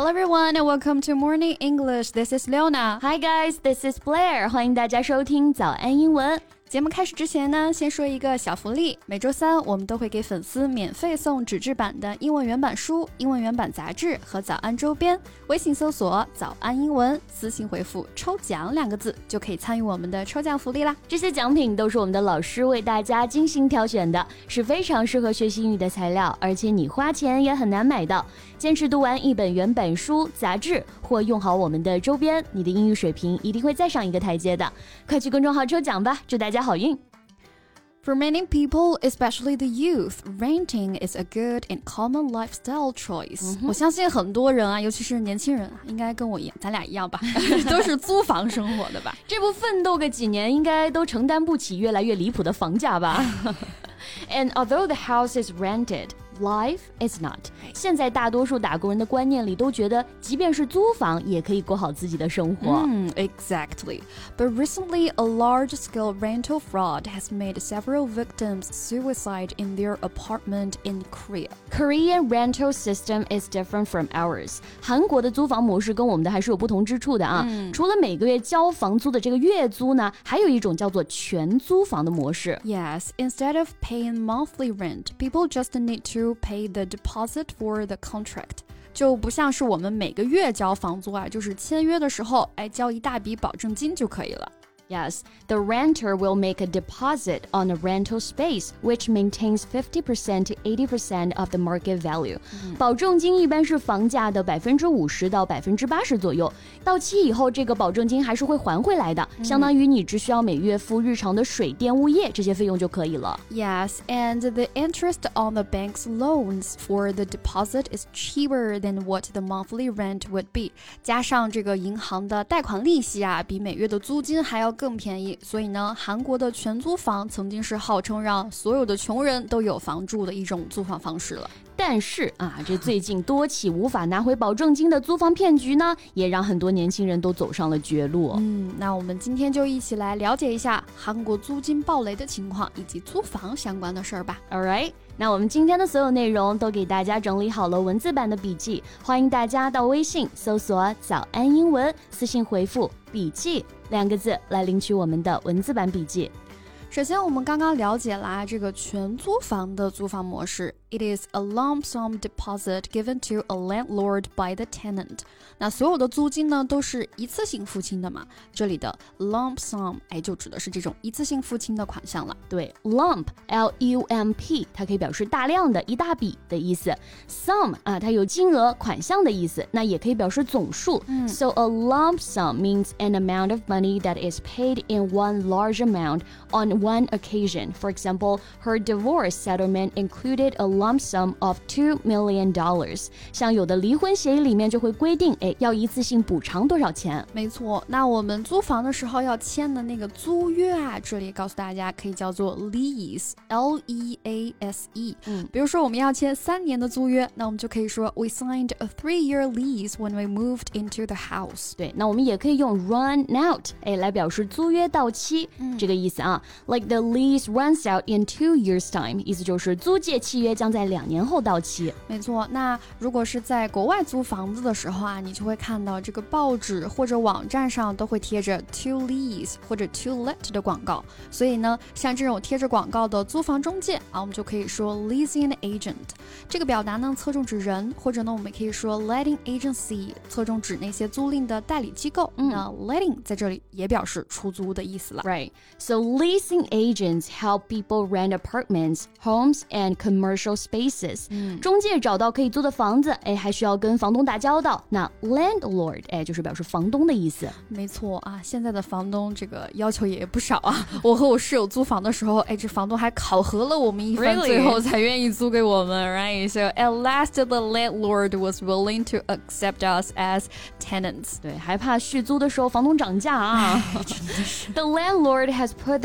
Hello everyone and welcome to Morning English. This is Leona. Hi guys, this is Blair. 欢迎大家收听早安英文。 节目开始之前呢，先说一个小福利。每周三我们都会给粉丝免费送纸质版的英文原版书、英文原版杂志和早安周边。微信搜索早安英文，私信回复抽奖2个字就可以参与我们的抽奖福利啦。 这些奖品都是我们的老师为大家精心挑选的，是非常适合学习英语的材料，而且你花钱也很难买到。坚持读完一本原版书、杂志或用好我们的周边，你的英语水平一定会再上一个台阶的。快去公众号抽奖吧，祝大家好运。 For many people, especially the youth, renting is a good and common lifestyle choice. 我相信很多人啊，尤其是年轻人啊，应该跟我一样，咱俩一样吧，都是租房生活的吧。 这不奋斗个几年，应该都承担不起越来越离谱的房价吧。And although the house is rented, life is not. 现在大多数打工人的观念里都觉得，即便是租房，也可以过好自己的生活。 Exactly. But recently, a large-scale rental fraud has made several victims suicide in their apartment in Korea. Korean rental system is different from ours. 韩国的租房模式跟我们的还是有不同之处的啊。除了每个月交房租的这个月租呢，还有一种叫做全租房的模式。 Yes, instead of paying monthly rent, people just need to pay the deposit for the contract. 就不像是我们每个月交房租啊，就是签约的时候，交一大笔保证金就可以了。 Yes, the renter will make a deposit on a rental space, which maintains 50% to 80% of the market value. 保证金一般是房价的50%到80%左右。到期以后，这个保证金还是会还回来的，相当于你只需要每月付日常的水电物业这些费用就可以了。 Yes, and the interest on the bank's loans for the deposit is cheaper than what the monthly rent would be. 加上这个银行的贷款利息啊，比每月的租金还要更便宜，所以呢，韩国的全租房曾经是号称让所有的穷人都有房住的一种租房方式了。 但是啊，这最近多起无法拿回保证金的租房骗局呢，也让很多年轻人都走上了绝路。 那我们今天就一起来了解一下韩国租金暴雷的情况以及租房相关的事儿吧。 Alright， 那我们今天的所有内容都给大家整理好了文字版的笔记，欢迎大家到微信搜索早安英文，私信回复笔记2个字来领取我们的文字版笔记。 首先我们刚刚了解了这个全租房的租房模式。It is a lump sum deposit given to a landlord by the tenant. 那所有的租金呢都是一次性付清的嘛，这里的 lump sum 就指的是这种一次性付清的款项了。 对 lump L-U-M-P 它可以表示大量的一大笔的意思。sum 它有金额款项的意思，那也可以表示总数。So a lump sum means an amount of money that is paid in one large amount on one occasion. For example, her divorce settlement included a lump sum of $2 million. 像有的离婚协议里面就会规定，要一次性补偿多少钱。 没错，那我们租房的时候要签的那个租约啊，这里告诉大家可以叫做 lease, L-E-A-S-E。比如说我们要签3年的租约，那我们就可以说 We signed a 3-year lease when we moved into the house. 对，那我们也可以用 run out 来表示租约到期，这个意思啊。Like the lease runs out in 2 years' time， 意思就是租借契约将在2年后到期。 没错，那如果是在国外租房子的时候啊，你就会看到这个报纸或者网站上都会贴着 to lease 或者 to let 的广告，所以呢，像这种贴着广告的租房中介啊，我们就可以说 leasing agent。这个表达呢，侧重指人，或者呢，我们可以说 letting agency， 侧重指那些租赁的代理机构。那 letting 在这里也表示出租的意思了。 Right. So leasing agents help people rent apartments, homes, and commercial spaces. 中介找到可以租的房子，还需要跟房东打交道。那 landlord， 就是表示房东的意思。 没错啊，现在的房东这个要求也不少啊。我和我室友租房的时候，这房东还考核了我们一番，最后才愿意租给我们。Right? So at last, the landlord was willing to accept us as tenants. 对，还怕续租的时候房东涨价啊。真的是。The landlord has put the rent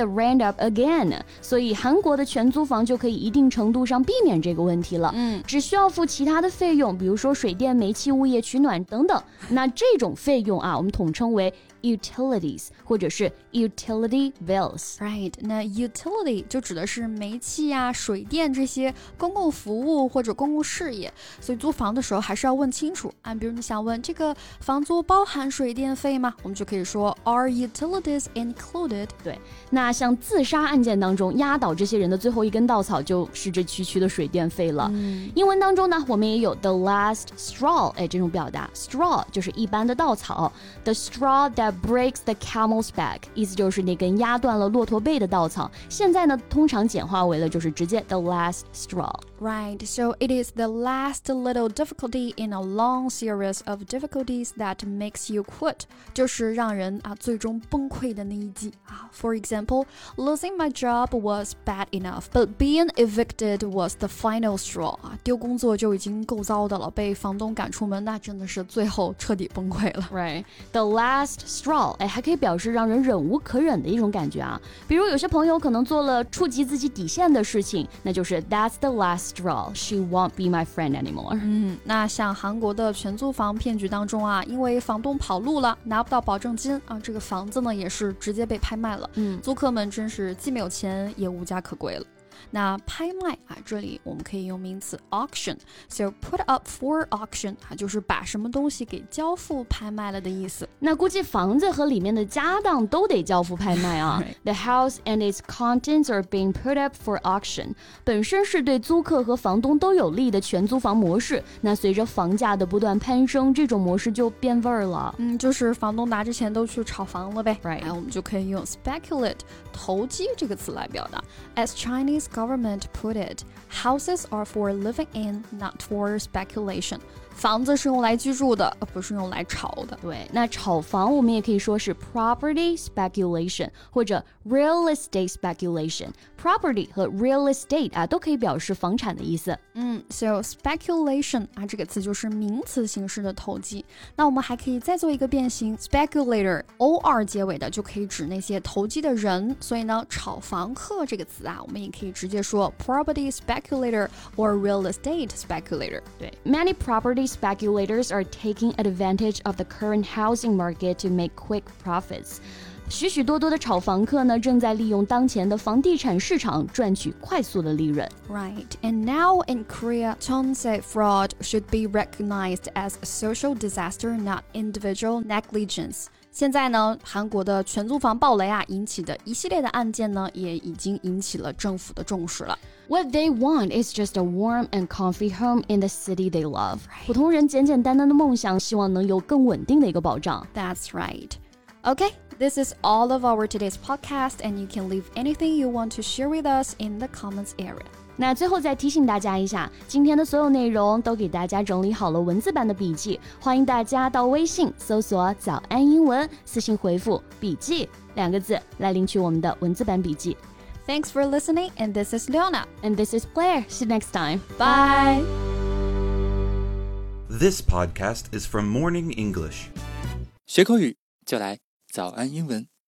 up again， 所以韩国的全租房就可以一定程度上避免这个问题了。只需要付其他的费用，比如说水电、煤气、物业取暖等等。那这种费用啊，我们统称为utilities 或者是 utility bills。 Right， 那 utility 就指的是煤气啊、水电这些公共服务或者公共事业，所以租房的时候还是要问清楚啊。比如你想问这个房租包含水电费吗？我们就可以说 Are utilities included？ 对，那像自杀案件当中压倒这些人的最后一根稻草就是这区区的水电费了。英文当中呢，我们也有 the last straw 这种表达， straw 就是一般的稻草， the straw that breaks the camel's back 意思就是那根压断了骆驼背的稻草。现在呢，通常简化为了就是直接 the last straw。Right, so it is the last little difficulty in a long series of difficulties that makes you quit， 就是让人最终崩溃的那一击啊。For example, losing my job was bad enough, but being evicted was the final straw。丢工作就已经够糟的了，被房东赶出门，那真的是最后彻底崩溃了。 Right, the last straw， 还可以表示让人忍无可忍的一种感觉啊。比如有些朋友可能做了触及自己底线的事情，那就是 That's the last straw. She won't be my friend anymore. 那像韩国的全租房骗局当中啊，因为房东跑路了，拿不到保证金啊，这个房子呢也是直接被拍卖了。租客们真是既没有钱也无家可归了。那拍卖这里我们可以用名词 auction， so put up for auction 就是把什么东西给交付拍卖了的意思。 那估计房子和里面的家当都得交付拍卖啊。The house and its contents are being put up for auction 本身是对租客和房东都有利的全租房模式，那随着房价的不断攀升，这种模式就变味儿了。 就是房东拿着钱都去炒房了呗。 Right， 我们就可以用 speculate 投机这个词来表达。As Chinese government put it, houses are for living in, not for speculation. 房子是用来居住的，不是用来炒的。 对，那炒房我们也可以说是 property speculation 或者 real estate speculation。Property 和 real estate 都可以表示房产的意思。 So speculation 这个词就是名词形式的投机。那我们还可以再做一个变形 speculator or 结尾的就可以指那些投机的人。所以呢，炒房客这个词我们也可以直接说 property speculator or real estate speculator。 对 ，many property speculators are taking advantage of the current housing market to make quick profits. 许许多多的炒房客呢，正在利用当前的房地产市场赚取快速的利润。 Right, and now in Korea, Jeonse fraud should be recognized as a social disaster, not individual negligence. 现在呢，韩国的全租房暴雷引起的一系列的案件呢，也已经引起了政府的重视了。 What they want is just a warm and comfy home in the city they love. 普通人简简单单的梦想，希望能有更稳定的一个保障。 That's right. Okay, this is all of our today's podcast, and you can leave anything you want to share with us in the comments area. 那最后再提醒大家一下，今天的所有内容都给大家整理好了文字版的笔记，欢迎大家到微信搜索早安英文，私信回复笔记2个字来领取我们的文字版笔记。 Thanks for listening, and this is Leona. And this is Blair. See you next time. Bye. This podcast is from Morning English. 学口语就来早安英文。